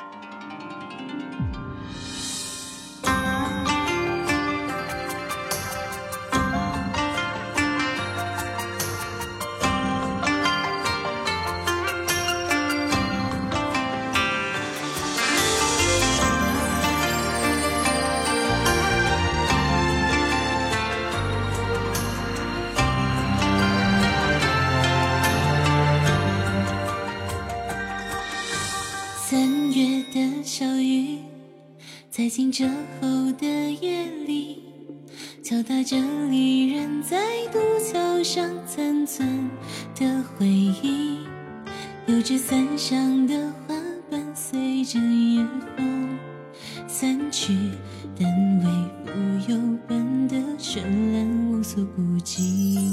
3月的小雨，在惊蛰后的夜里，敲打着离人在渡桥上残存的回忆。油纸伞上的花瓣随着夜风散去，但为浮游般的绚烂无所不及。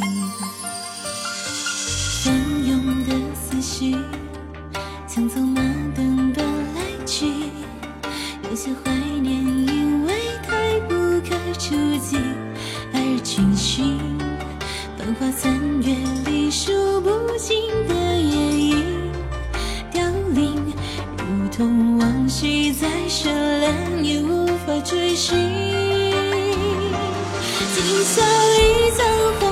翻涌的思绪像走马灯般来去，有些怀念因为太不可触及而军训。繁华3月里数不尽的夜莺凋零，如同往昔再绚烂也无法追寻。今宵一场